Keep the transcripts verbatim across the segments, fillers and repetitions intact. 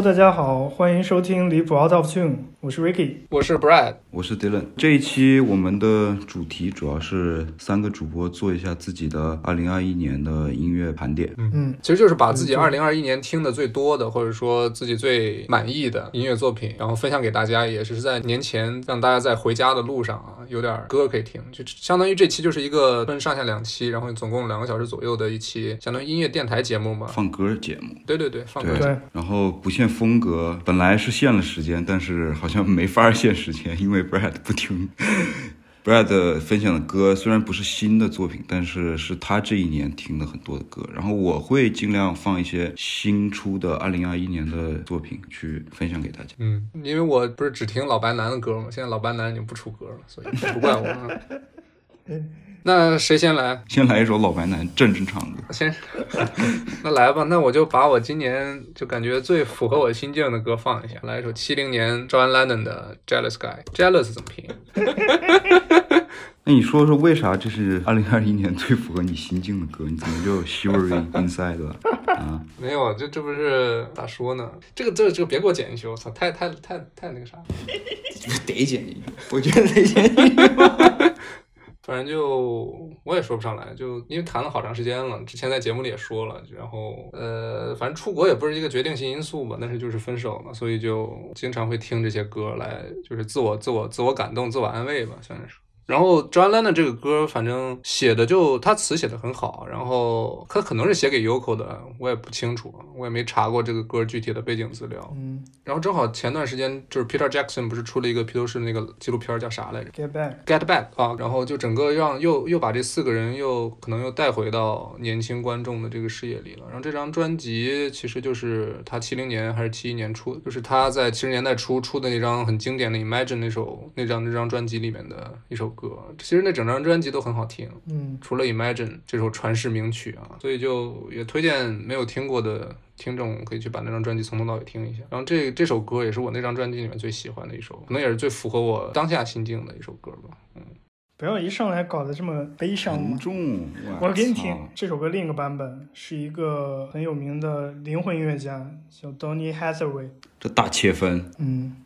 大家好，欢迎收听离谱 Out of Tune， 我是 Ricky， 我是 Brad， 我是 Dylan。这一期我们的主题主要是三个主播做一下自己的二零二一年的音乐盘点。 嗯，其实就是把自己二零二一年听的最多的，或者说自己最满意的音乐作品，然后分享给大家，也是在年前让大家在回家的路上啊，有点歌可以听，就相当于这期就是一个分上下两期，然后总共两个小时左右的一期，相当于音乐电台节目嘛， 放歌节目。 对对对，放歌节目。 然后不限风格，本来是限了时间，但是好像没法限时间，因为 Brad 不听。Brad 分享的歌虽然不是新的作品，但是是他这一年听的很多的歌。然后我会尽量放一些新出的二零二一年的作品去分享给大家。 嗯，因为我不是只听老白男的歌嘛，现在老白男已经不出歌了，所以不怪我。那谁先来？ 先来一首老白男正正常的。 先，那来吧，那我就把我今年就感觉最符合我心境的歌放一下，来一首七零年 John Lennon 的 Jealous Guy。Jealous 怎么拼？ 那你说说为啥这是二零二一年最符合你心境的歌？你怎么就 Shivery Inside 了啊？ 没有，这这不是咋说呢？这个这个这个别给我剪进去，我操，太太太太那个啥， 得剪进去，我觉得得剪进去。 反正就我也说不上来，就因为谈了好长时间了，之前在节目里也说了，然后呃，反正出国也不是一个决定性因素吧，但是就是分手嘛，所以就经常会听这些歌来，就是自我自我自我感动、自我安慰吧，算是。然后 John Lennon 这个歌反正写的就他词写的很好，然后他可能是写给 Yoko 的，我也不清楚，我也没查过这个歌具体的背景资料。 嗯， 然后正好前段时间就是 Peter Jackson 不是出了一个披头士那个纪录片叫啥来着 Get Back Get Back 啊，然后就整个让又又把这四个人又可能又带回到年轻观众的这个视野里了。然后这张专辑其实就是他七零年还是七一年出，就是他在七十年代初出的那张很经典的 Imagine 那首那张那张专辑里面的一首歌，其实那整张专辑都很好听， 嗯， 除了 Imagine 这首传世名曲啊，所以就也推荐没有听过的听众可以去把那张专辑从头到尾听一下。然后这这首歌也是我那张专辑里面最喜欢的一首，可能也是最符合我当下心境的一首歌吧。嗯， 不要一上来搞得这么悲伤嘛。 沉重， 我给你听这首歌另一个版本，是一个很有名的灵魂音乐家叫 Donny Hathaway。 这大切分， 嗯。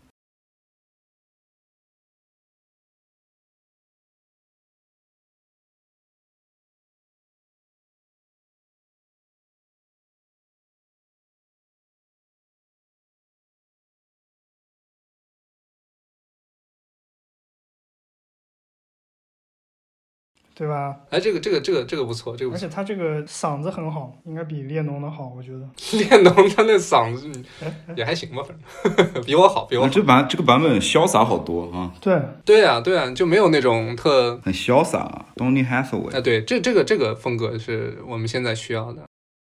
对吧？ 哎，这个这个这个这个不错，这个不错。 而且他这个嗓子很好，应该比列侬的好，我觉得。 列侬他那嗓子也还行吧，反正比我好，比我好。 啊、这版这个版本潇洒好多啊！ 对对啊，对啊，就没有那种特很潇洒 ，Donny Hathaway。 哎，对，这这个这个风格是我们现在需要的。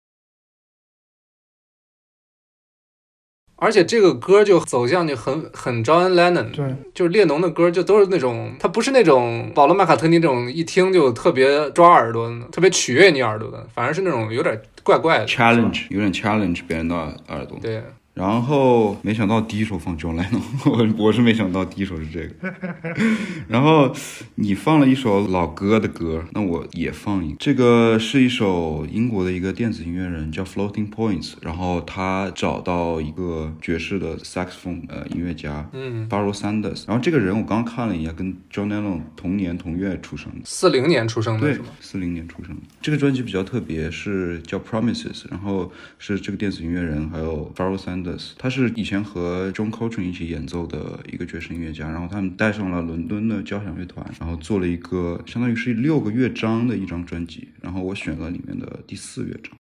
而且这个歌就走向就很很 John Lennon， 对， 就是列侬的歌就都是那种，他不是那种保罗麦卡特尼这种一听就特别抓耳朵的，特别取悦你耳朵的，反而是那种有点怪怪的 challenge， 有点 challenge 别人的耳朵。 对。 然后没想到第一首放 John Lennon， 我我是没想到第一首是这个。然后你放了一首老歌的歌，那我也放一个。这个是一首英国的一个电子音乐人叫 Floating Points， 然后他找到一个爵士的 saxophone 呃音乐家， 嗯 Pharoah Sanders。然后这个人我刚刚看了一下，跟 John Lennon 同年同月出生的， 四零年出生的是吗？ 对，四零年出生的。这个专辑比较特别，是叫 Promises， 然后是这个电子音乐人还有 Pharoah Sanders。他是以前和 John Coltrane 一起演奏的一个爵士音乐家，然后他们带上了伦敦的交响乐团，然后做了一个相当于是六个乐章的一张专辑，然后我选了里面的第四乐章。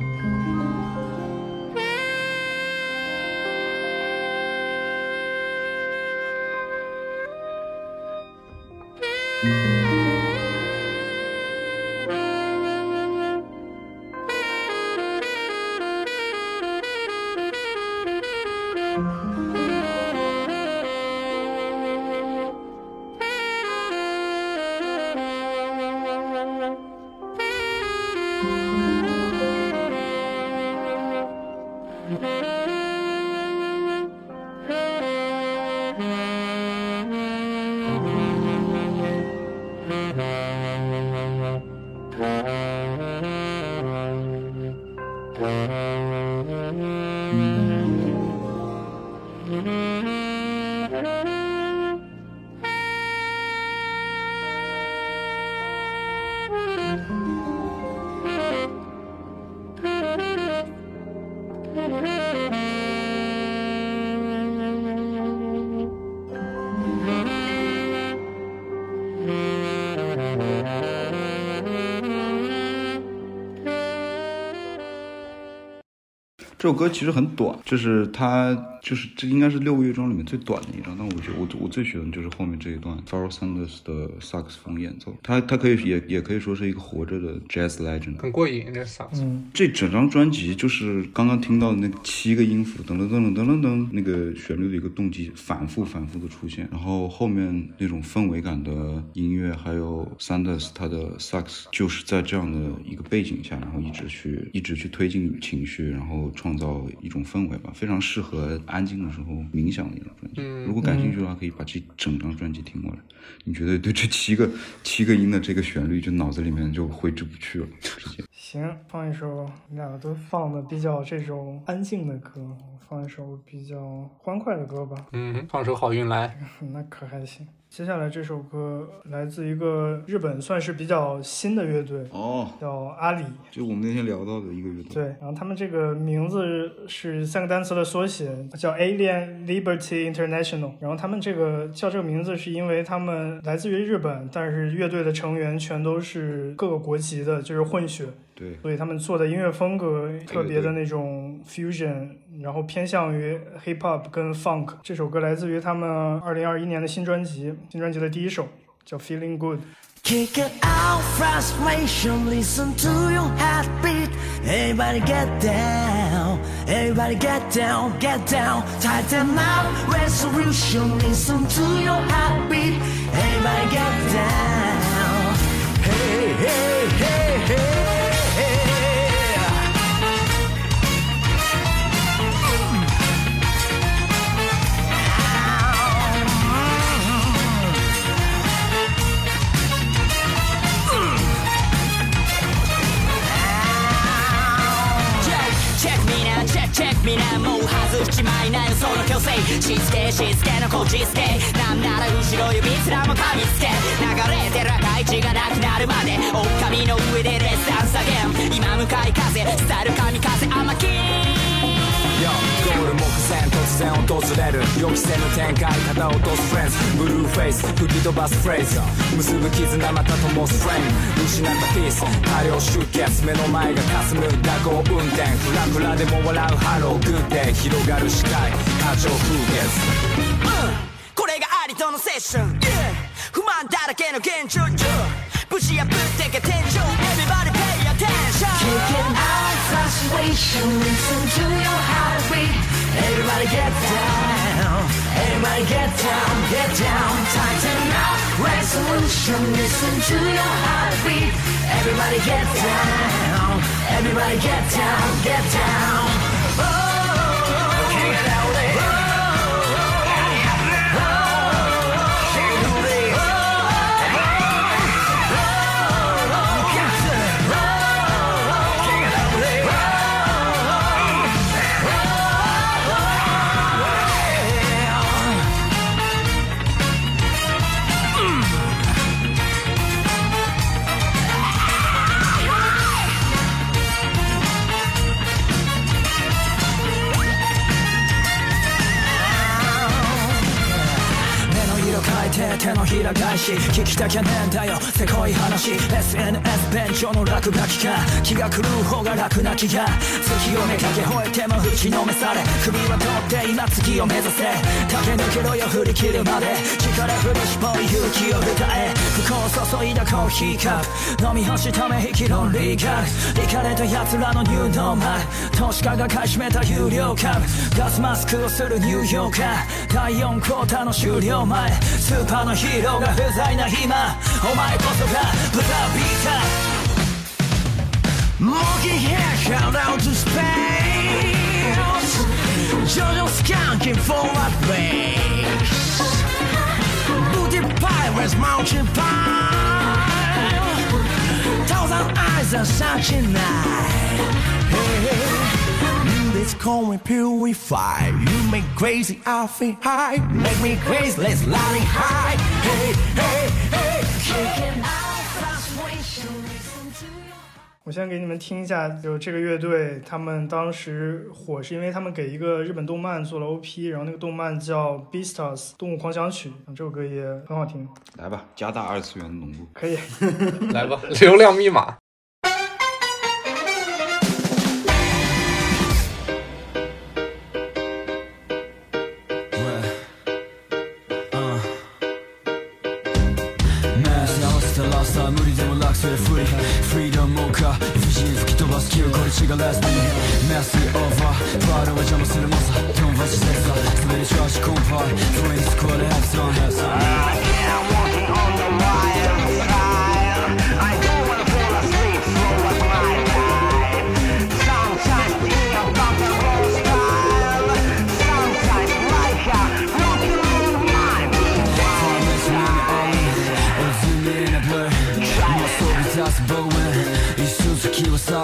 这首歌其实很短，就是它就是这应该是六个乐章里面最短的一张，但我觉得我我最喜欢的就是后面这一段 Pharoah Sanders 的萨克斯风演奏，它它可以也也可以说是一个活着的 jazz legend， 很过瘾这萨克斯。 嗯， 这整张专辑就是刚刚听到的那个七个音符噔噔噔噔噔噔噔那个旋律的一个动机反复反复的出现，然后后面那种氛围感的音乐，还有 Sanders 他的萨克斯就是在这样的一个背景下，然后一直去一直去推进情绪，然后创造一种氛围吧，非常适合安静的时候冥想的一张专辑。 嗯， 如果感兴趣的话，可以把这整张专辑听过来，你觉得对这七个七个音的这个旋律，就脑子里面就挥之不去了，直接。 行，放一首，你俩都放的比较这种安静的歌，放一首比较欢快的歌吧。 嗯，放首好运来。 那可还行。接下来这首歌来自一个日本算是比较新的乐队哦， 叫阿里， 就我们那天聊到的一个乐队。 对，然后他们这个名字是三个单词的缩写，叫 Alien Liberty International。然后他们这个叫这个名字是因为他们来自于日本，但是乐队的成员全都是各个国籍的，就是混血。 对， 所以他们做的音乐风格特别的那种 fusion，然后偏向于 hip hop 跟 funk。这首歌来自于他们二零二一年的新专辑，新专辑的第一首叫 Feeling Good。Kick out frustration, listen to your heartbeat. Everybody get down, everybody get down, get down. Tighten up resolution, listen to your heartbeat. Everybody get down. Hey, hey, hey, hey. みんなもう外しちまいなよその強制しつけしつけのこじつけなんなら後ろ指すらも噛みつけ流れてる赤い血がなくなるまで狼の上でレッサン下げ今向かい風スタイル神風甘きゴール目前突然訪れる予期せぬ展開肩を落とすフレンズブルーフェイス吹き飛ばすフレーズ結ぶ絆また灯すフレーム失ったピース大量出血目の前が霞む蛇行運転フラフラでも笑うハローグッデー広がる視界過剰風月、うん、これがありとのセッション、yeah、不満だらけの現状、yeah、ぶち破ってけ天井 Everybody pay attention Kicking out frustration Listen to your heartbeat Everybody get down Everybody get down Get down Tighten up resolution Listen to your heartbeat Everybody get down Everybody get down Get down Oh Kick it out there て手のひら返し聞きたきゃねえんだよせこい話 エスエヌエス 便所の落書きか気が狂う方が楽な気が月をめかけ吠えても打ちのめされ首は取って今次を目指せ駆け抜けろよ振り切るまで力振り絞り勇気を歌え不幸注いだコーヒーカップ飲み干しため息論理学リカれた奴らのニューノーマル投資家が買い占めた有料株ガスマスクをするニューヨーカーだいよんクォーターの終了前スーパーのヒーローが不在な今お前こそがブザービーター Looking here out to space Jojo skanking for a face Booty pirates mountain pine Thousand eyes are such a night hey, let's go and purify You make crazy I feel high Make me crazy let's let it high Hey hey hey Kicking out frustration Listen to your 我先给你们听一下，就这个乐队，他们当时火是因为他们给一个日本动漫做了 O P， 然后那个动漫叫《Beastars》动物狂想曲，这首歌也很好听。 来吧，加大二次元的浓度。 可以， 来吧，流量密码。 フリーダムモーカー不自由吹き飛ばす気をこれ違うラストにメスオーバーファールは邪魔する猛者トンバシセッサー滑り調子コンパイフレンスコアでハブソンヘッサー I'm walking on the wild side I don't wanna fall asleep slow as my life Sometimes think about the whole style Sometimes like a rock and roll mind Time is running or zoom in a blur That's blowing 一瞬先はさ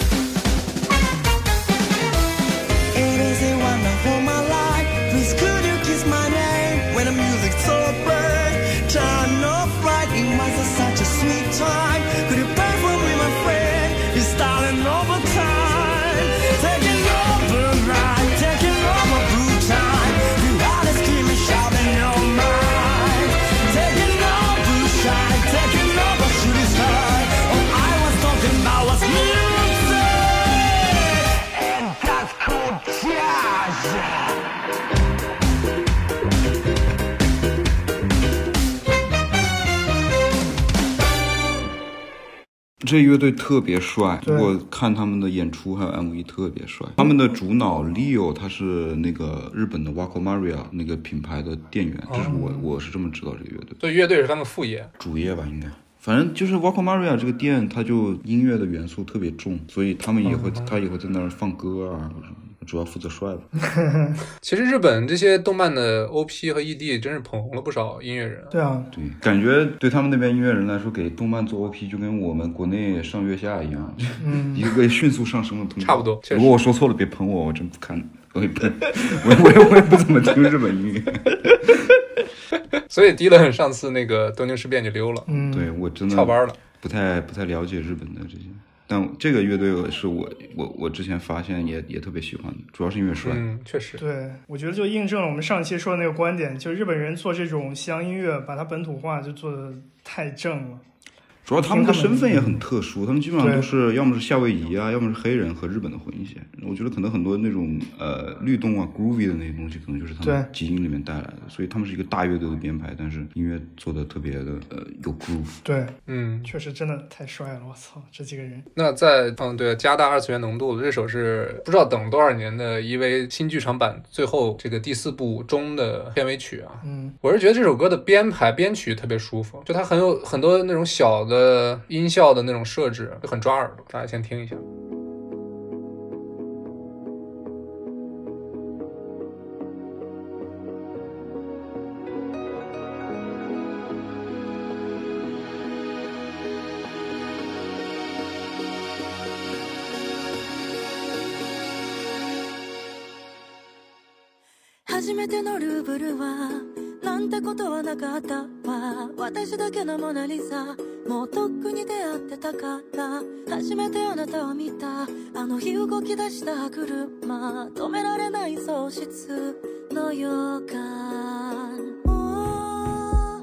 It is a wonderful my life Please could you kiss my name When the music's so bright Turn off right It was such a sweet time Could you pay for me my friend It's starting over time Taking over right Taking over blue time You are the screaming shouting your mind Taking over shine Taking over shooting star Now what's music And that's called jazz 这乐队特别帅，我看他们的演出还有 M V 特别帅。他们的主脑 Leo 他是那个日本的 Wako Maria 那个品牌的店员，这是我我是这么知道这个乐队。 所以乐队是他们副业， 主业吧应该。反正就是 Wako Maria 这个店，它就音乐的元素特别重，所以他们也会，他也会在那儿放歌啊，主要负责帅吧。 其实日本这些动漫的 O P 和 E D 真是捧红了不少音乐人。 对啊， 对，感觉对他们那边音乐人来说，给动漫做 O P 就跟我们国内上月下一样，嗯，一个迅速上升的通道。 差不多。 如果我说错了，别喷我，我真不看，我也不，我我也我也不怎么听日本音乐。 所以迪伦上次那个东京事变就溜了， 嗯，对我真的翘班了， 不太不太了解日本的这些，但这个乐队是我我我之前发现也也特别喜欢的，主要是因为帅。 嗯，确实。 对，我觉得就印证了我们上期说的那个观点，就日本人做这种西洋音乐，把它本土化就做的太正了。 主要他们的身份也很特殊，他们基本上都是要么是夏威夷啊，要么是黑人和日本的混血。我觉得可能很多那种呃律动啊 groovy 的那些东西，可能就是他们基因里面带来的。所以他们是一个大乐队的编排，但是音乐做的特别的呃有 groove。 对， 嗯， 确实真的太帅了，我操，这几个人。 那在嗯对加大二次元浓度，这首是不知道等多少年的 E V 新剧场版最后这个第四部中的片尾曲啊。 嗯， 我是觉得这首歌的编排编曲特别舒服，就它很有很多那种小的音效的那种设置，就很抓耳朵。大家先听一下。 初めてのルーブルはなんてことはなかったわ私だけのモナリザもうとっくに出会ってたから初めてあなたを見たあの日動き出した車止められない喪失の予感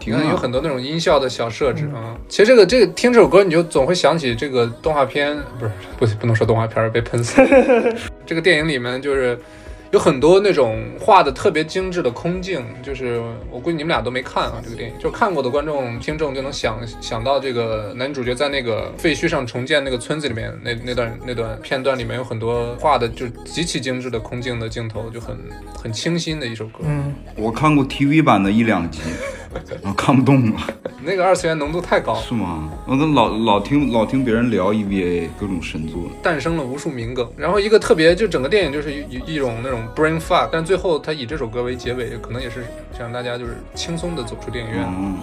听啊， 有很多那种音效的小设置啊、嗯。其实这个这个听这首歌，你就总会想起这个动画片，不是不不能说动画片被喷死。这个电影里面就是有很多那种画的特别精致的空镜，就是我估计你们俩都没看啊，这个电影就看过的观众听众就能想想到这个男主角在那个废墟上重建那个村子里面那那段那段片段里面有很多画的就极其精致的空镜的镜头，就很很清新的一首歌。 嗯， 我看过 T V 版的一两集，然后看不动了。 那个二次元浓度太高了。 是吗？我都老老听老听别人聊 E V A 各种神作， 诞生了无数名梗。然后一个特别就整个电影就是一一种那种 brain fuck， 但最后他以这首歌为结尾，可能也是想让大家就是轻松的走出电影院。 嗯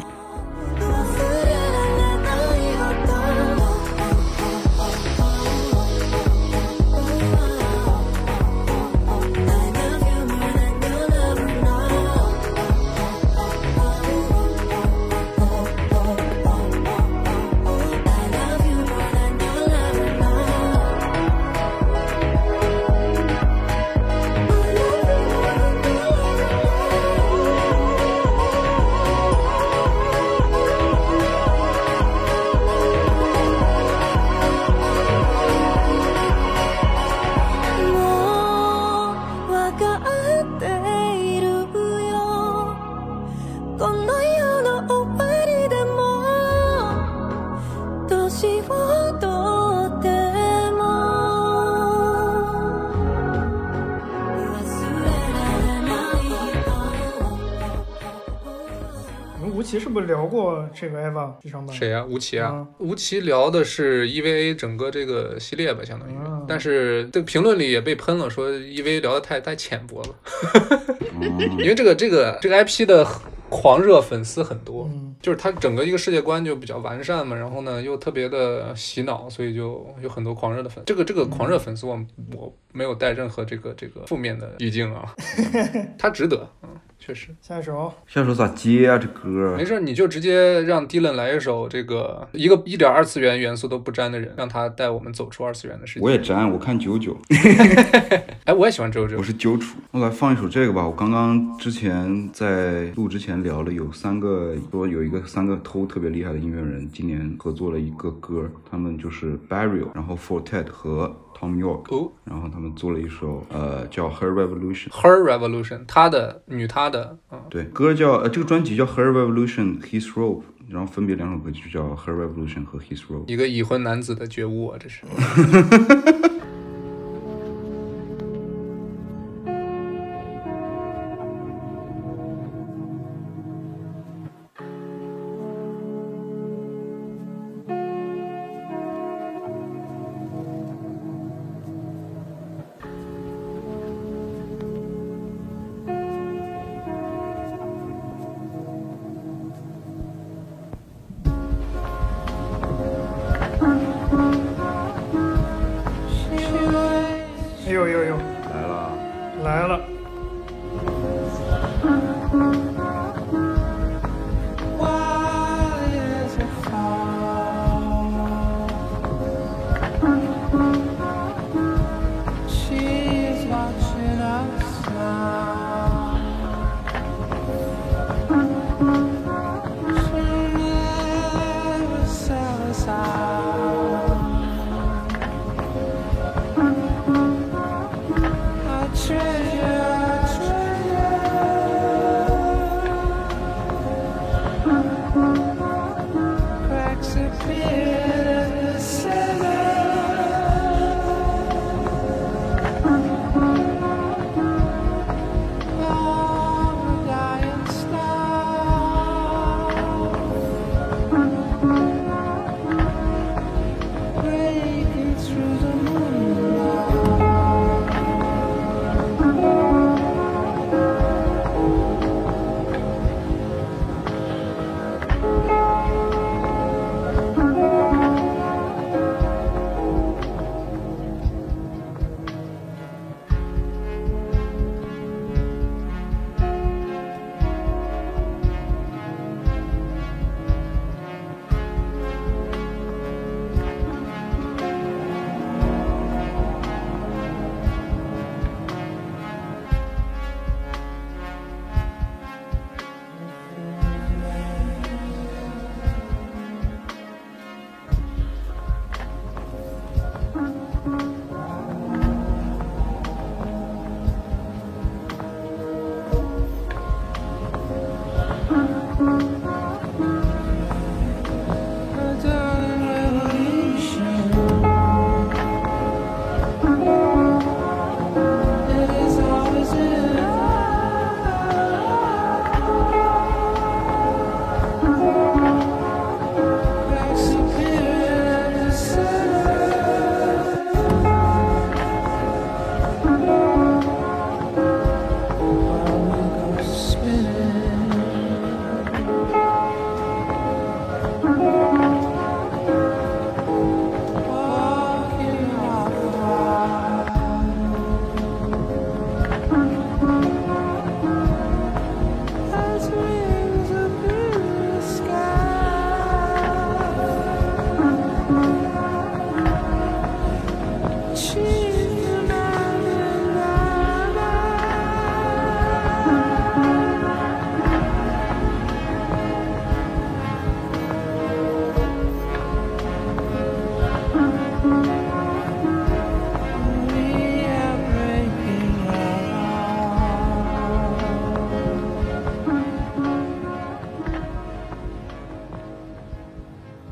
吴奇是不是聊过这个 E V A 剧场版？ 谁呀、啊？吴奇啊、 嗯！ 吴奇聊的是 E V A 整个这个系列吧，相当于。 嗯、 但是这个评论里也被喷了，说 E V A 聊的太太浅薄了。因为这个这个这个 I P 的狂热粉丝很多， 嗯、 就是它整个一个世界观就比较完善嘛，然后呢又特别的洗脑，所以就有很多狂热的粉。这个这个狂热粉丝我，我我没有带任何这个这个负面的语境啊，他值得，嗯。确实， 下一首， 下一首咋接啊？这歌没事，你就直接让 Dylan 来一首这个一个一点二次元元素都不沾的人，让他带我们走出二次元的世界。 我也沾，我看九九。 哎，我也喜欢九九。 我是九楚。我来放一首这个吧。我刚刚之前在录之前聊了，有三个说有一个三个偷特别厉害的音乐人，今年合作了一个歌，他们就是 Burial， 然后 Fortet 和Tom York，、哦、然后他们做了一首呃叫 Her Revolution。Her Revolution， 他的女他的，嗯， 对，歌叫呃这个专辑叫 Her Revolution His Rope， 然后分别两首歌就叫 Her Revolution 和 His Rope。 一个已婚男子的觉悟啊，这是。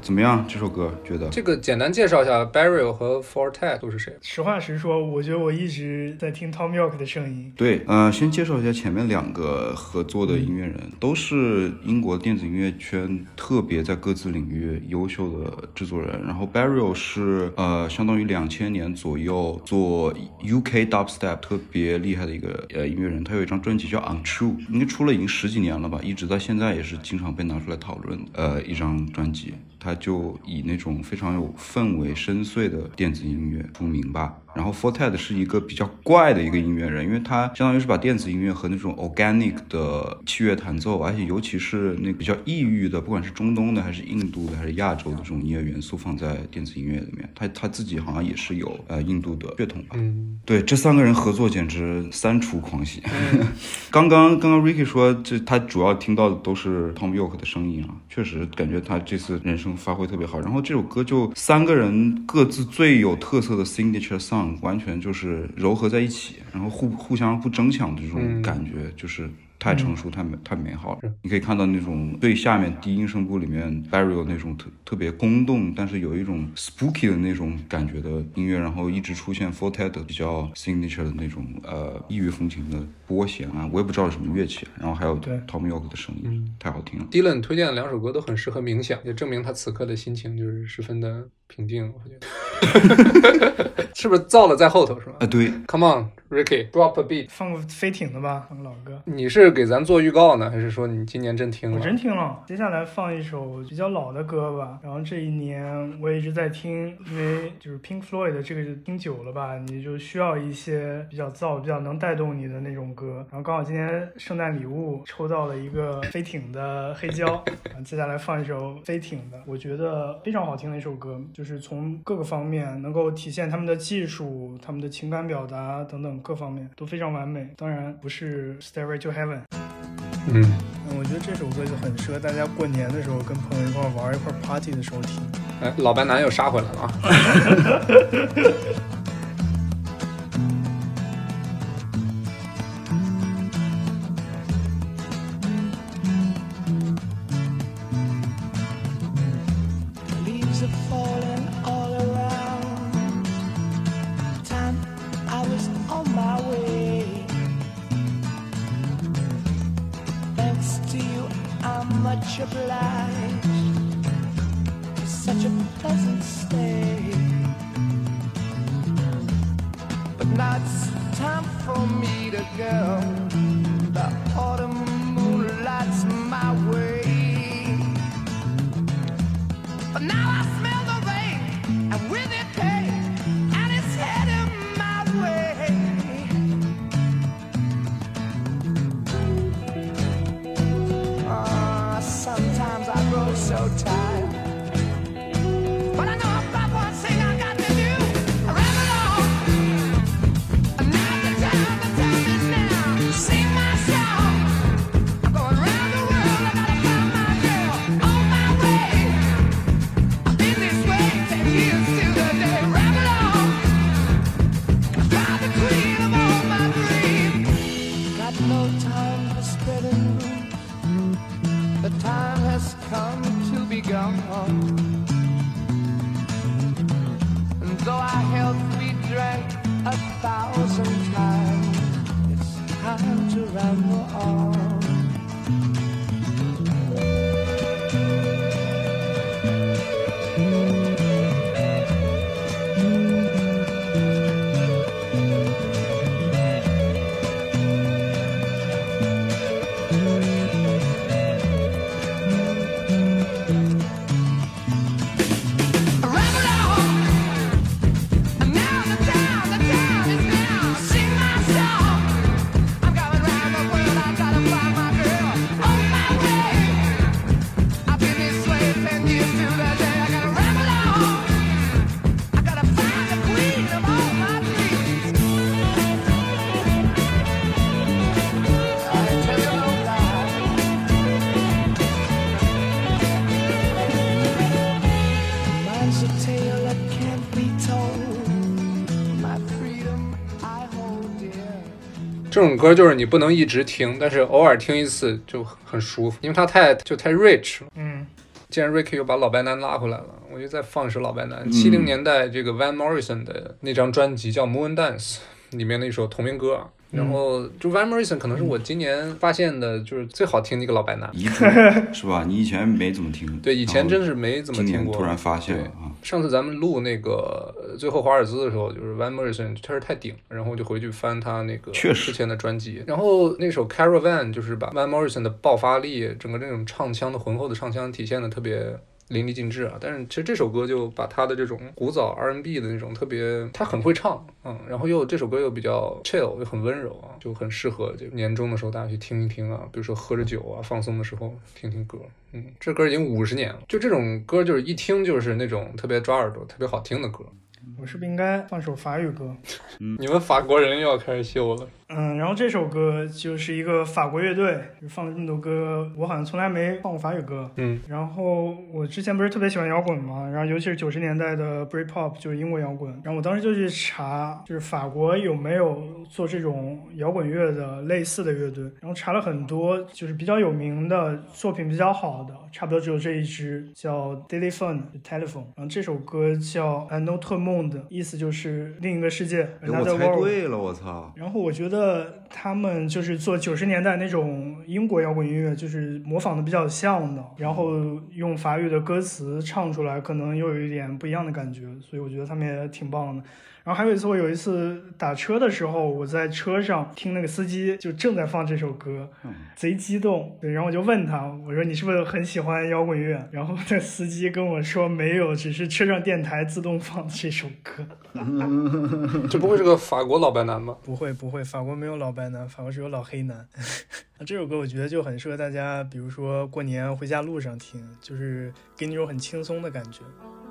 怎么样？这首歌觉得？ 这个简单介绍一下 Burial 和 Fortet 都是谁？ 实话实说，我觉得我一直在听 Tom York 的声音。 对，呃，先介绍一下前面两个合作的音乐人，嗯、都是英国电子音乐圈特别在各自领域优秀的制作人。然后 Burial 是呃，相当于两千年左右做 U K Dubstep 特别厉害的一个呃音乐人。他有一张专辑叫 Untrue， 应该出了已经十几年了吧，一直到现在也是经常被拿出来讨论的呃一张专辑。他就以那种非常有氛围深邃的电子音乐出名吧。然后 Fortet 是一个比较怪的一个音乐人，因为他相当于是把电子音乐和那种 organic 的器乐弹奏，而且尤其是那比较异域的，不管是中东的还是印度的还是亚洲的这种音乐元素放在电子音乐里面。他他自己好像也是有呃印度的血统吧。嗯，对，这三个人合作简直三出狂喜。嗯、刚刚刚刚 Ricky 说这他主要听到的都是 Tom York 的声音啊，确实感觉他这次人声发挥特别好。然后这首歌就三个人各自最有特色的 signature song。完全就是糅合在一起，然后互互相不争抢的这种感觉，嗯、就是太成熟、太美、太美好了。你可以看到那种最下面低音声部里面 Burial 那种特特别空洞，但是有一种 spooky 的那种感觉的音乐，然后一直出现 Fortet 比较 signature 的那种呃异域风情的拨弦啊，我也不知道是什么乐器，然后还有 Tom York 的声音，嗯、太好听了。 Dylan 推荐的两首歌都很适合冥想，也证明他此刻的心情就是十分的平静，我觉得。是不是造了在后头是吧？ 啊，对。 Come on Ricky drop a beat， 放个飞艇的吧，放个老歌。 你是给咱做预告呢，还是说你今年真听了？ 我真听了。接下来放一首比较老的歌吧，然后这一年我也一直在听，因为就是 Pink Floyd 这个听久了吧，你就需要一些比较燥、比较能带动你的那种歌。然后刚好今天圣诞礼物抽到了一个飞艇的黑胶，然后接下来放一首飞艇的，我觉得非常好听的一首歌，就是从各个方面能够体现他们的技术、他们的情感表达等等各方面都非常完美。当然不是 Stairway to Heaven。 嗯， 我觉得这首歌就很适合大家过年的时候跟朋友一块玩一块 party 的时候听。 哎，老白男又杀回来了啊！ Much obliged for such a pleasant stay, but now it's time for me to go. The autumn moonlight's my way, but now I smell the rain and with it pain, and it's heading my way. Sometimes I grow so tired, but I know I've got one thing I got to do. I ramble on, and now the time, the time is now. Sing my song, I'm going round the world, I gotta find my girl on my way. I've been this way ten years till the day. Ramble on, I drive the queen of all my dreams. Got no time for spreading room. The time has come to be gone, and though our health we drank a thousand times, it's time to ramble on. a tale that can't be told. My freedom I hold dear. 这种歌就是你不能一直听，但是偶尔听一次就很舒服，因为它太就太 rich 了。 嗯， 既然 Ricky 又把老白男拉回来了，我就再放一首老白男。七零、嗯、年代这个 Van Morrison 的那张专辑叫 Moon Dance 里面的一首同名歌。然后就 Van Morrison 可能是我今年发现的就是最好听的一个老白男， 是吧？你以前没怎么听？ 对，以前真是没怎么听过。 突然发现了啊！ 上次咱们录那个最后华尔兹的时候，就是 Van Morrison 确实太顶，然后就回去翻他那个之前的专辑，然后那首 Caravan 就是把 Van Morrison 的爆发力，整个这种唱腔的浑厚的唱腔体现的特别淋漓尽致啊，但是其实这首歌就把他的这种古早 R and B 的那种特别，他很会唱，嗯，然后又这首歌又比较 chill， 又很温柔啊，就很适合就年终的时候大家去听一听啊，比如说喝着酒啊，放松的时候听听歌，嗯，这歌已经五十年了，就这种歌就是一听就是那种特别抓耳朵、特别好听的歌。 我是不是应该放首法语歌？ 嗯，你们法国人又要开始秀了。 嗯，然后这首歌就是一个法国乐队放了这么多歌，我好像从来没放过法语歌。 嗯， 然后我之前不是特别喜欢摇滚嘛，然后尤其是九十年代的 Britpop 就是英国摇滚，然后我当时就去查，就是法国有没有做这种摇滚乐的类似的乐队，然后查了很多，就是比较有名的作品比较好的，差不多只有这一支叫 Téléphone Telephone， 然后这首歌叫 Un autre monde， 意思就是另一个世界。 我猜对了，我操！ 然后我觉得他们就是做九十年代那种英国摇滚音乐，就是模仿的比较像的，然后用法语的歌词唱出来，可能又有一点不一样的感觉，所以我觉得他们也挺棒的。然后还有一次，我有一次打车的时候，我在车上听那个司机就正在放这首歌，贼激动。对，然后我就问他，我说你是不是很喜欢摇滚乐？然后那司机跟我说没有，只是车上电台自动放这首歌。 这不会是个法国老白男吗？ 不会不会，法国没有老白男，法国只有老黑男。这首歌我觉得就很适合大家，比如说过年回家路上听，就是给你一种很轻松的感觉。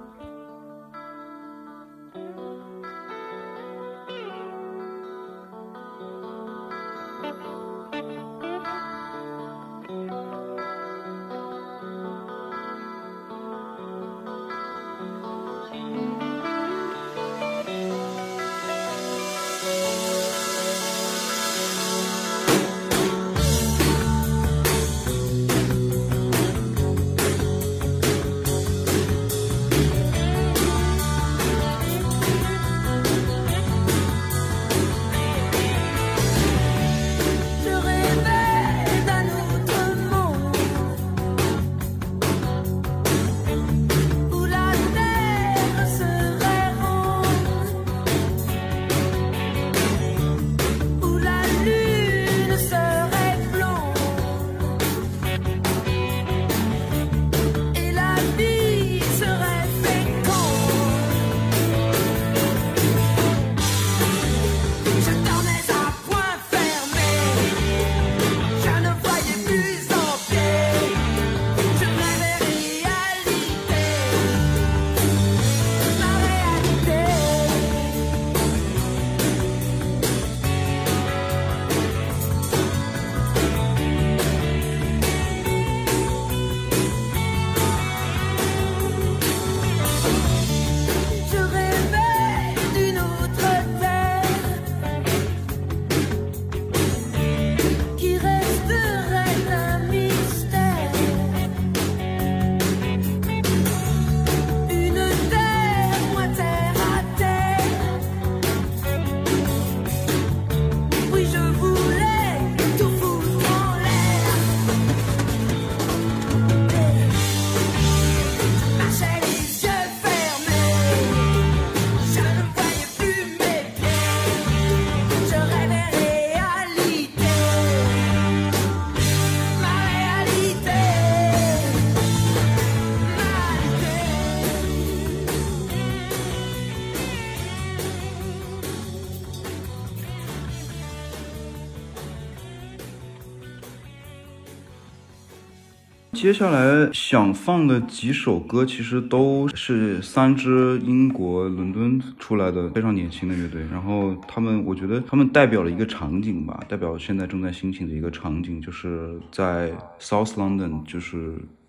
接下来想放的几首歌其实都是三支英国伦敦出来的非常年轻的乐队，然后他们我觉得他们代表了一个场景吧，代表现在正在兴起的一个场景，就是在 South London 就是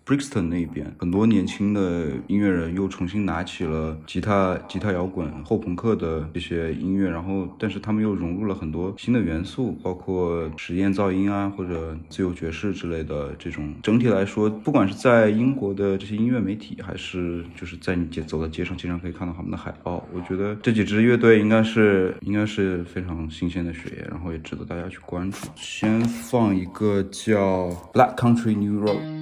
Brixton 那边，很多年轻的音乐人又重新拿起了吉他、吉他摇滚、后朋克的这些音乐，然后但是他们又融入了很多新的元素，包括实验噪音啊，或者自由爵士之类的这种。整体来说，不管是在英国的这些音乐媒体，还是就是在你街走到街上，经常可以看到他们的海报，我觉得这几支乐队应该是应该是非常新鲜的血液，然后也值得大家去关注。先放一个叫 Black Country New Road。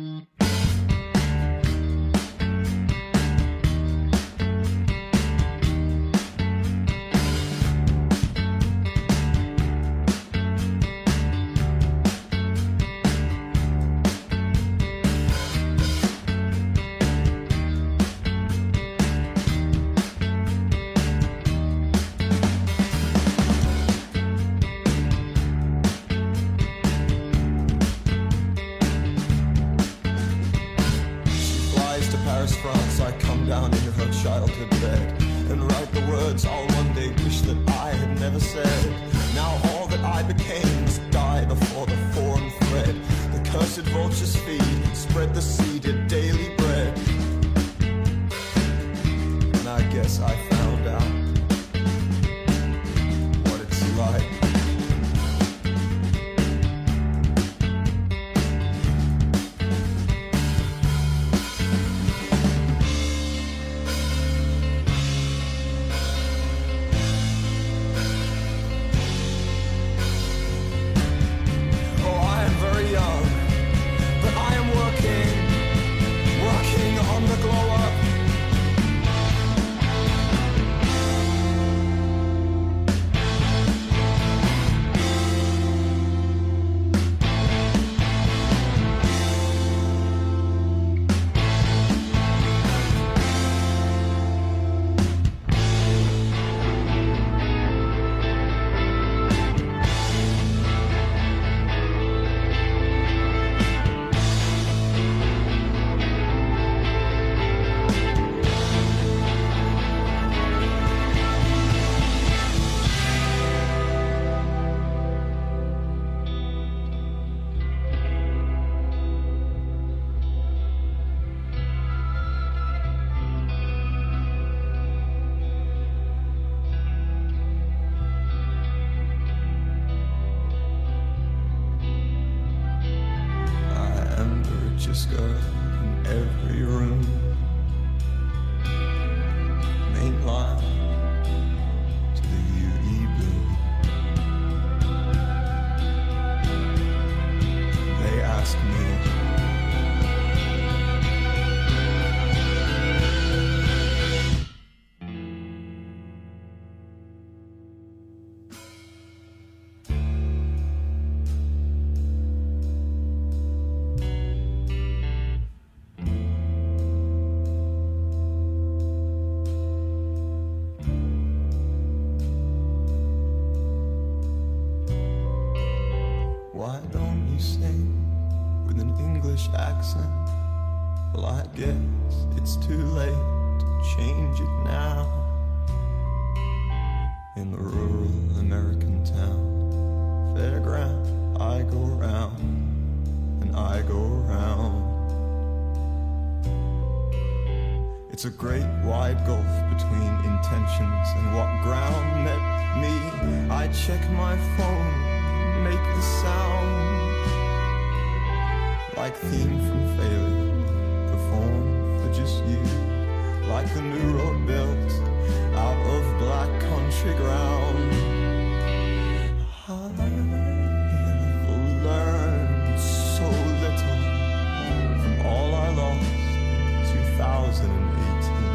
Why don't you sing with an English accent? Well, I guess it's too late to change it now. In the rural American town fairground, I go round and I go round. It's a great wide gulf between intentions and what ground met me. I check my phone, make the sound like theme from failure, performed for just you, like the new road built out of black country ground. I've learned so little from all I lost two thousand eighteen.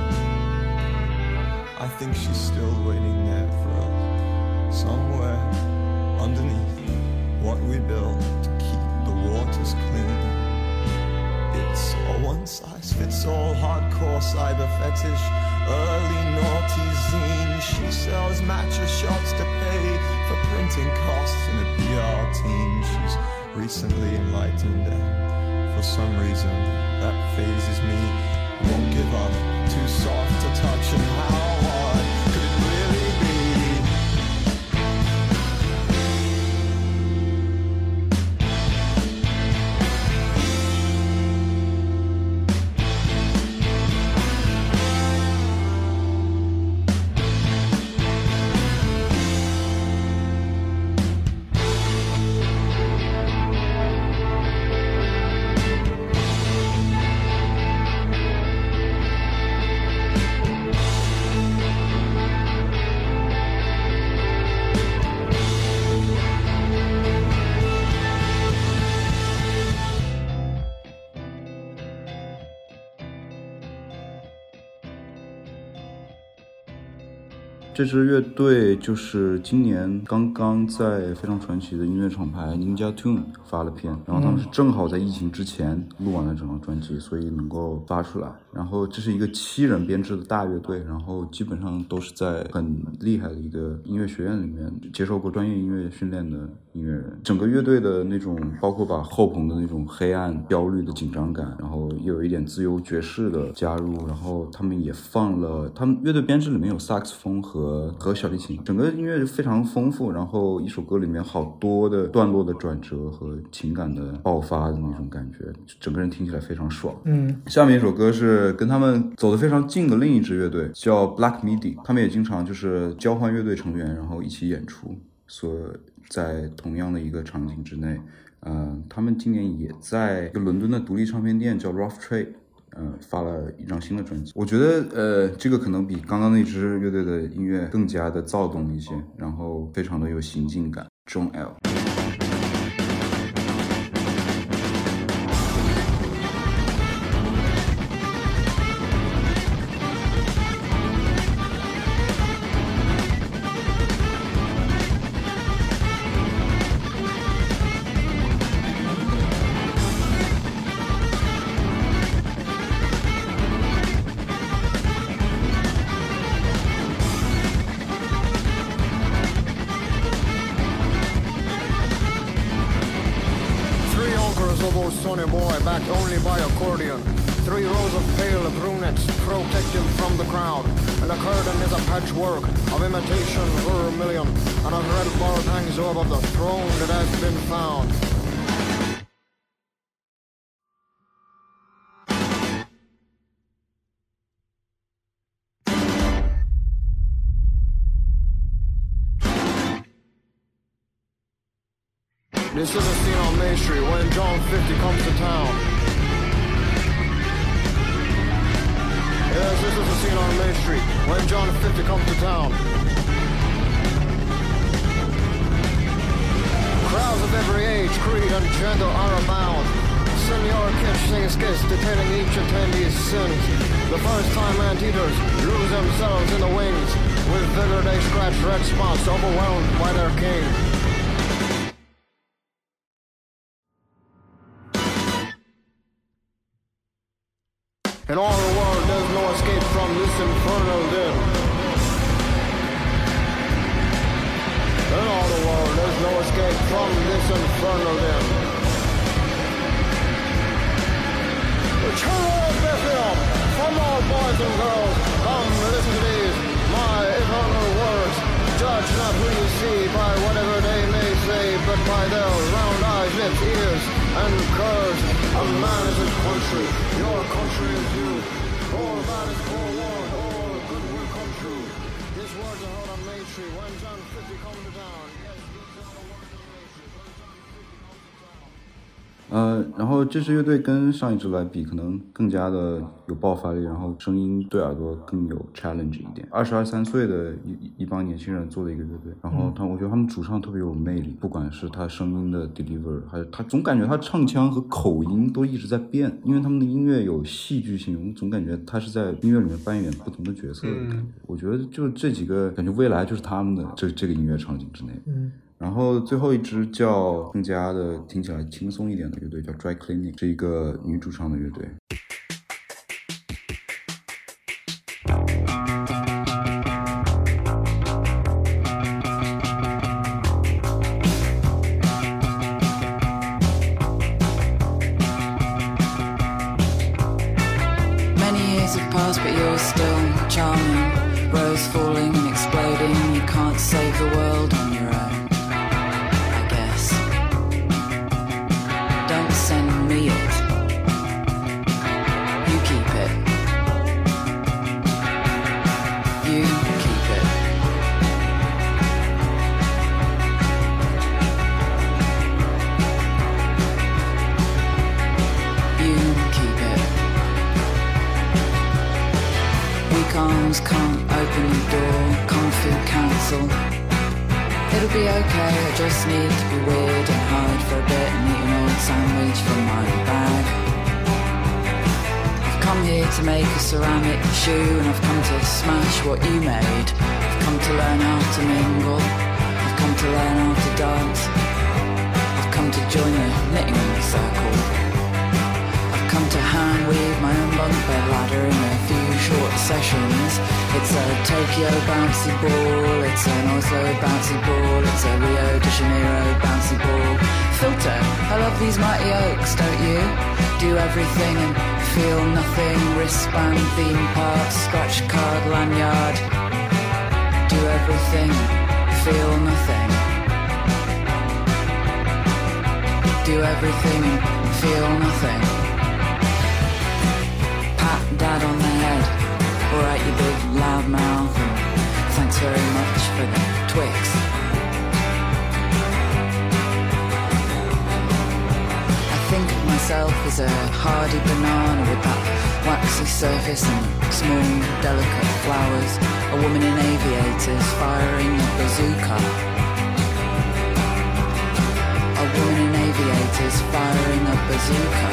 I think she's still waiting there for us, somewhere underneath what we built to keep the waters clean. It's a one-size-fits-all hardcore cyber fetish, early naughty zine. She sells matcha shots to pay for printing costs in a P R team. She's recently enlightened and for some reason that phases me. Won't give up, too soft to touch, and how hard could it really be? 这支乐队就是今年刚刚在非常传奇的音乐厂牌 Ninja Tune 发了片，然后他们是正好在疫情之前录完了整张专辑，所以能够发出来。然后这是一个七人编制的大乐队，然后基本上都是在很厉害的一个音乐学院里面接受过专业音乐训练的音乐人。整个乐队的那种包括把后朋的那种黑暗焦虑的紧张感，然后又有一点自由爵士的加入，然后他们也放了他们乐队编制里面有萨克斯风和和小提琴，整个音乐非常丰富，然后一首歌里面好多的段落的转折和情感的爆发的那种感觉，整个人听起来非常爽。 嗯， 下面一首歌是跟他们走得非常近的另一支乐队叫 Black Midi， 他们也经常就是交换乐队成员然后一起演出，所在同样的一个场景之内。呃，他们今年也在一个伦敦的独立唱片店叫 Rough Trade呃，发了一张新的专辑。我觉得呃，这个可能比刚刚那支乐队的音乐更加的躁动一些，然后非常的有行进感。John L Sonny boy backed only by accordion. Three rows of pale brunettes protect him from the crowd, and the curtain is a patchwork of imitation vermilion, and a red board hangs over the throne that has been found. This is a scene on Main Street when John fifty comes to town. Yes, this is a scene on Main Street when John fifty comes to town. Crowds of every age, creed, and gender are abound. Senor Kitch sings skits detailing each attendee's sins. The first-time anteaters lose themselves in the wings. With vigor they scratch red spots, overwhelmed by their king. In all the world, there's no escape from this infernal din. In all the world, there's no escape from this infernal din. The children of Bethlehem, from all boys and girls, come listen to these, my eternal words. Judge not who you see by whatever they may say, but by their round eyes, lips, ears, and curves. A man is his country, your country is you. All that is forewarned, all good will come true. These words are heard on Main Street when John fifty comes to town. Yes, these are the words on Main Street when John fifty comes to town. 呃，然后这支乐队跟上一支来比，可能更加的有爆发力，然后声音对耳朵更有 challenge 一点。二十二三岁的一一帮年轻人做的一个乐队，然后他，我觉得他们主唱特别有魅力，不管是他声音的 deliver， 还是他总感觉他唱腔和口音都一直在变，因为他们的音乐有戏剧性，我总感觉他是在音乐里面扮演不同的角色的感觉。嗯、我觉得就这几个，感觉未来就是他们的这这个音乐场景之内。嗯。然后最后一支叫更加的听起来轻松一点的乐队叫 Dry Cleaning， 是一个女主唱的乐队。 Many years have passed, but you're still charming. Rose falling and exploding. You can't save the world on your own. Send me it. You keep it. You keep it. You keep it. Weak arms can't open the door. Can't feel counsel. It'll be okay, I just need to be weird and hide for a bit and eat an old sandwich from my bag. I've come here to make a ceramic shoe, and I've come to smash what you made. I've come to learn how to mingle, I've come to learn how to dance, I've come to join the knitting circle, I've come to hand weave my own bunk bed ladder in a few short sessions. It's a Tokyo bouncy ball, it's an Oslo bouncy ball, it's a Rio de Janeiro bouncy ball. Filter, I love these mighty oaks, don't you? Do everything and feel nothing. Wristband, theme park, scratch card, lanyard. Do everything, feel nothing. Do everything and feel nothing. Pat dad on the head, alright you big loud mouth, and thanks very much for the Twix. Think of myself as a hardy banana with that waxy surface and small, delicate flowers. A woman in aviators firing a bazooka. A woman in aviators firing a bazooka.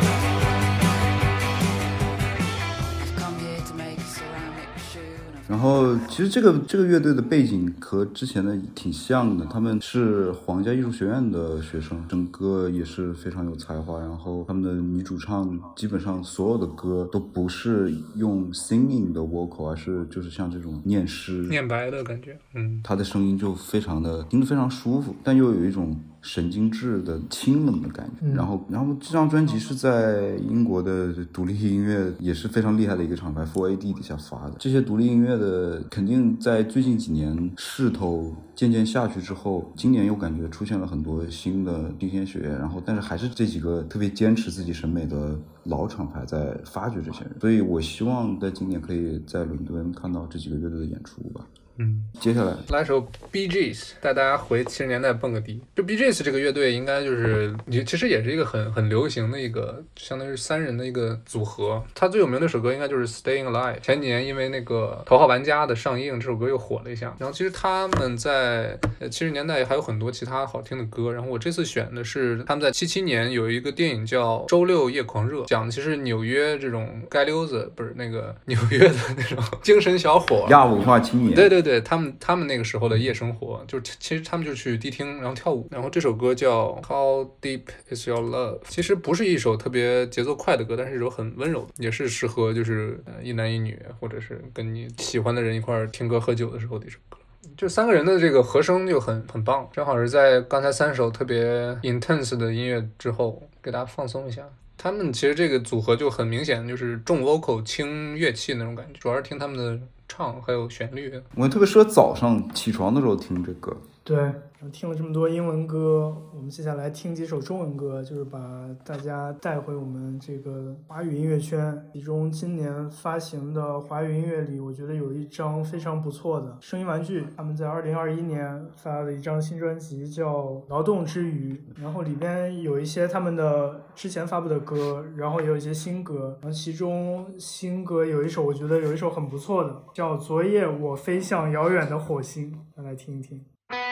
I've come here to make a ceramic shoe. 然后其实这个这个乐队的背景和之前的挺像的，他们是皇家艺术学院的学生，整个也是非常有才华。然后他们的女主唱基本上所有的歌都不是用 singing 的 vocal， 而是就是像这种念诗念白的感觉。嗯， 她的声音就非常的听得非常舒服，但又有一种神经质的清冷的感觉。嗯、然后然后这张专辑是在英国的独立音乐也是非常厉害的一个厂牌 四 A D 底下发的。这些独立音乐的肯定在最近几年势头渐渐下去之后，今年又感觉出现了很多新的新鲜血液，然后但是还是这几个特别坚持自己审美的老厂牌在发掘这些人，所以我希望在今年可以在伦敦看到这几个乐队的演出吧。 嗯， 接下来来首 Bee Gees， 带大家回七十年代蹦个迪。就 Bee Gees 这个乐队应该就是其实也是一个很很流行的一个相当于是三人的一个组合。他最有名的一首歌应该就是 Staying Alive， 前几年因为那个头号玩家的上映，这首歌又火了一下。然后其实他们在七十年代还有很多其他好听的歌，然后我这次选的是他们在七七年有一个电影叫《周六夜狂热》，讲的其实纽约这种街溜子，不是那个纽约的那种精神小伙， 亚文化青年。 对对对，他们他们那个时候的夜生活，就是其实他们就去迪厅然后跳舞。然后这首歌叫 How Deep Is Your Love， 其实不是一首特别节奏快的歌，但是一首很温柔的，也是适合就是一男一女或者是跟你喜欢的人一块听歌喝酒的时候的一首歌。就三个人的这个和声就很很棒，正好是在刚才三首特别 intense 的音乐之后给大家放松一下。他们其实这个组合就很明显就是重 vocal 轻乐器那种感觉，主要是听他们的唱还有旋律。 我特别适合早上起床的时候听这歌。 对，听了这么多英文歌，我们接下来听几首中文歌，就是把大家带回我们这个华语音乐圈。其中今年发行的华语音乐里，我觉得有一张非常不错的声音玩具，他们在二零二一年发了一张新专辑叫《劳动之余》，然后里边有一些他们的之前发布的歌，然后也有一些新歌，然后其中新歌有一首我觉得有一首很不错的，叫《昨夜我飞向遥远的火星》，大家来听一听。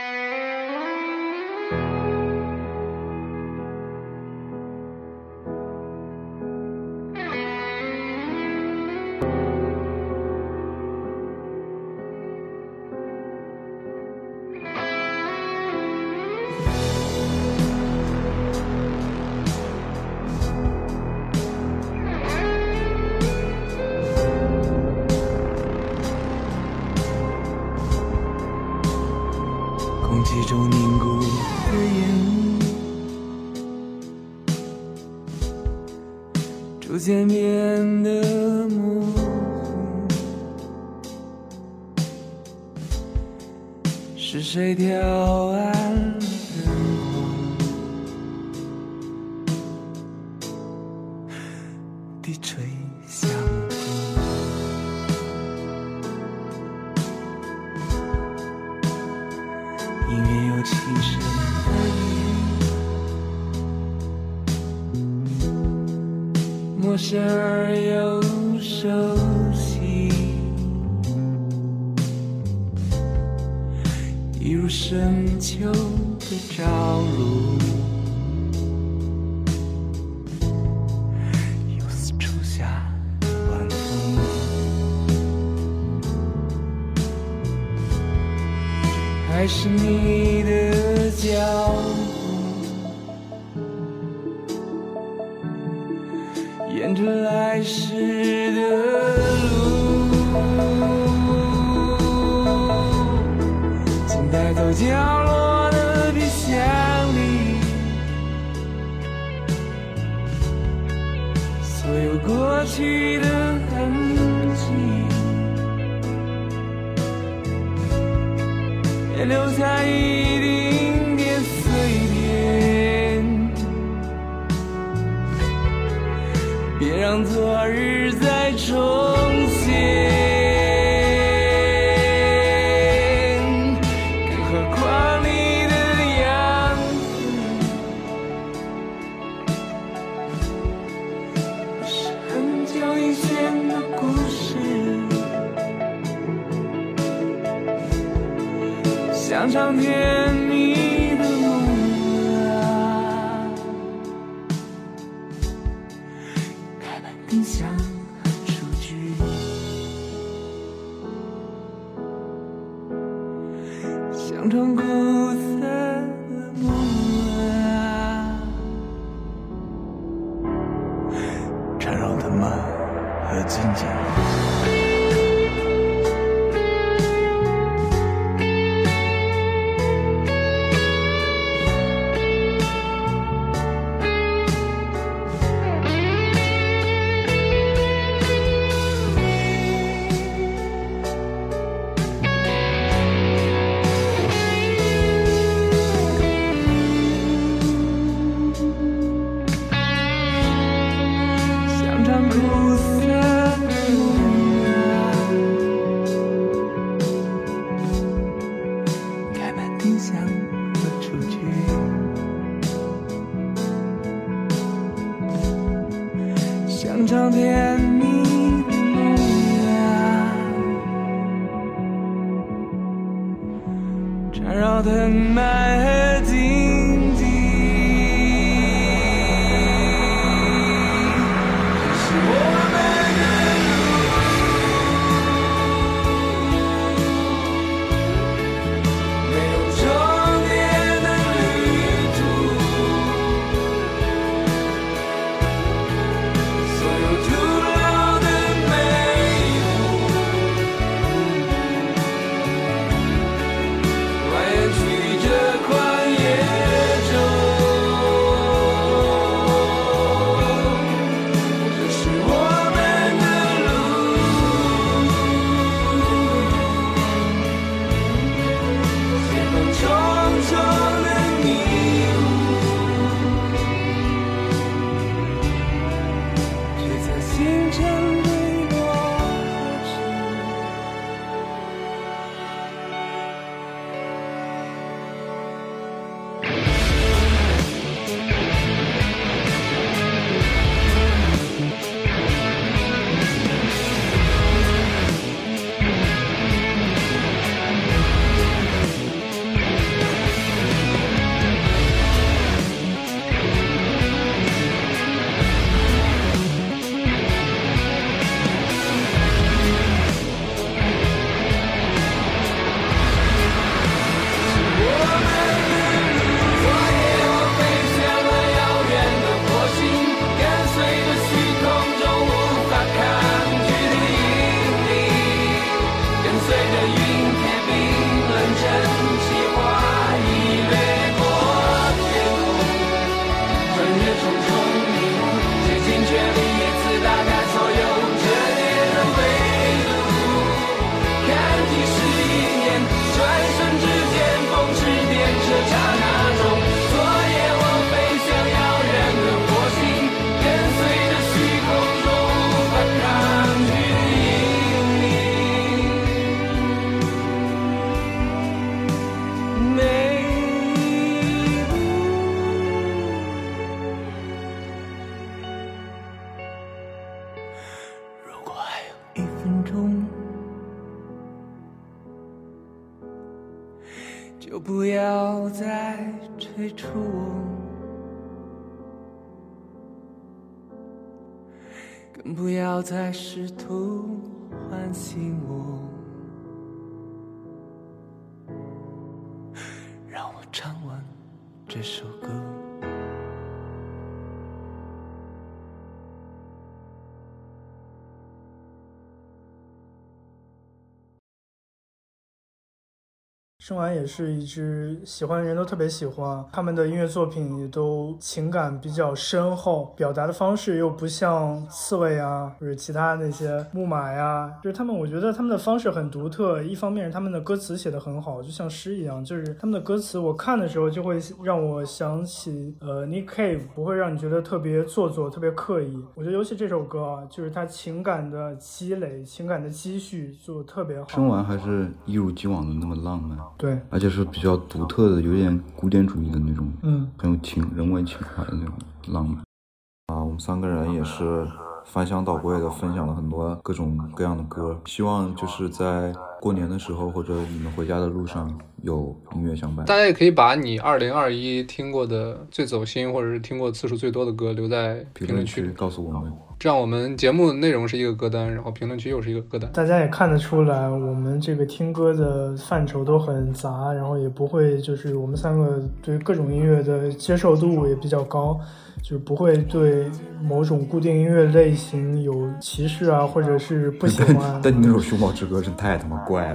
空气中凝固的烟逐渐变得模糊，是谁调暗灯光地吹向音乐有轻声的音，陌生而又熟悉，一如深秋的朝露，又似初夏的还是你的脚步，沿着来时的路，请带走角落的皮箱里所有过去的痕迹，也留下一丁点碎片，别让昨日再重现。更何况你的样子是很久以前的故事，像场甜蜜的梦啊，开门冰箱和厨具，像场苦涩的梦啊，缠绕的满和紧紧。像场甜蜜的梦啊，缠绕藤蔓和荆棘，是我们的路，没有终点的旅途，所有徒劳的美好，蜿蜒去这旷野中。这是我们的路，随风重重的迷雾，却在星辰坠落时。如果还有一分钟，就不要再催促我，更不要再试图唤醒我。 这首歌。 生完也是一支喜欢的人都特别喜欢，他们的音乐作品也都情感比较深厚，表达的方式又不像刺猬啊或者其他那些木马呀，就是他们我觉得他们的方式很独特，一方面是他们的歌词写得很好，就像诗一样，就是他们的歌词我看的时候就会让我想起呃 Nick Cave， 不会让你觉得特别做作特别刻意。我觉得尤其这首歌啊，就是他情感的积累情感的积蓄做得特别好。 生完还是一如既往的那么浪漫， 对， 而且是比较独特的，有点古典主义的那种， 嗯， 很有情人文情怀的那种浪漫。啊，我们三个人也是翻箱倒柜的分享了很多各种各样的歌，希望就是在过年的时候或者你们回家的路上有音乐相伴。 大家也可以把你二零二一听过的最走心或者是听过次数最多的歌留在评论区告诉我们， 这样我们节目内容是一个歌单，然后评论区又是一个歌单。 大家也看得出来我们这个听歌的范畴都很杂，然后也不会就是我们三个对各种音乐的接受度也比较高，就是不会对某种固定音乐类型有歧视啊，或者是不喜欢。 但你那首《熊猫之歌》真太他妈怪了，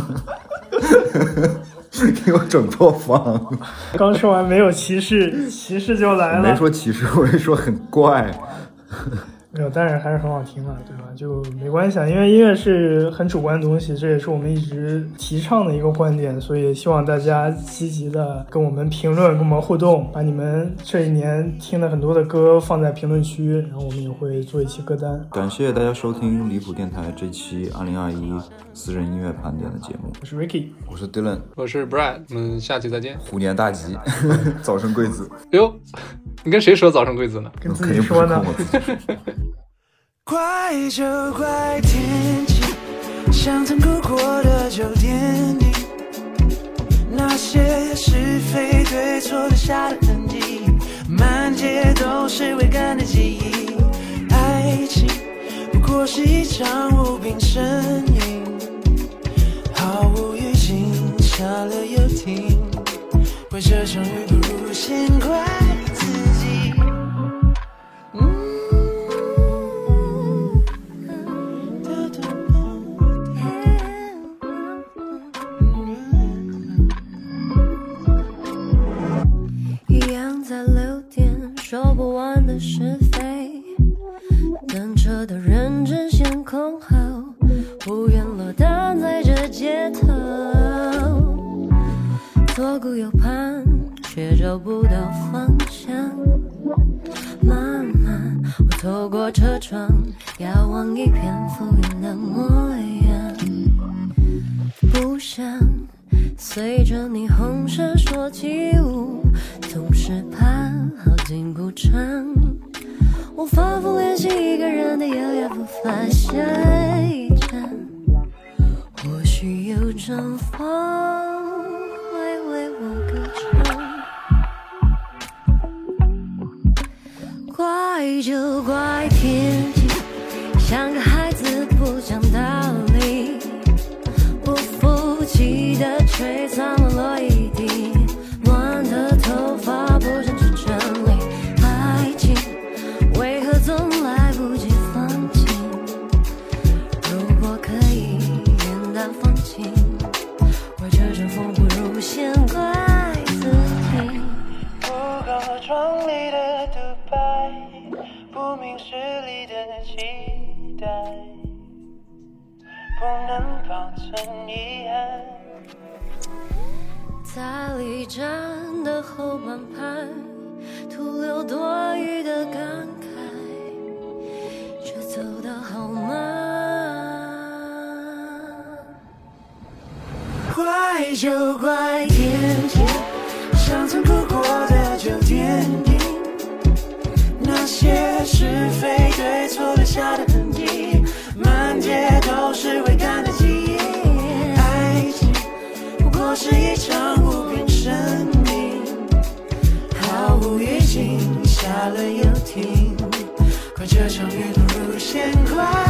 给我整错方。 刚说完没有歧视，歧视就来了。 没说歧视，我是说很怪。 没有，但是还是很好听嘛，对吧？就没关系啊，因为音乐是很主观的东西，这也是我们一直提倡的一个观点，所以希望大家积极的跟我们评论，跟我们互动，把你们这一年听了很多的歌放在评论区，然后我们也会做一期歌单。 感谢大家收听离谱电台这期二零二一私人音乐盘点的节目。 我是 Ricky， 我是 Dylan， 我是 Brad， 我们下期再见。 虎年大吉，早生贵子。 哟，你跟谁说早生贵子呢？ 跟自己说呢。 怪就怪天气，像曾哭过的酒店里，那些是非对错留下的痕迹，满街都是未干的记忆。爱情不过是一场无病呻吟，毫无预警，下了又停，怪这场雨不如先怪自己。 说不完的是非，等车的人争先恐后，不愿落单在这街头，左顾右盼却找不到方向。慢慢我透过车窗遥望一片浮云的模样，不想随着霓虹闪烁起舞，总是怕好景不长。我反复练习一个人的优雅步伐下一站，或许有阵风会为我歌唱。怪就怪天气，像个孩子不讲道理，不服气的吹散了落一地，乱的头发不想去整理。爱情为何总来不及放弃？如果可以云淡风轻，怪这阵风不如先怪自己。 不够壮丽的独白，不明事理的期待，不能保存遗憾。 在离站的后半排，徒留多余的感慨，却走得好慢。 怪就怪天气，像曾哭过的酒店里，那些是非对错留下的痕迹，满街都是未干的记忆。爱情不过是一场无病呻吟，毫无预警，下了又停，怪这场雨不如先怪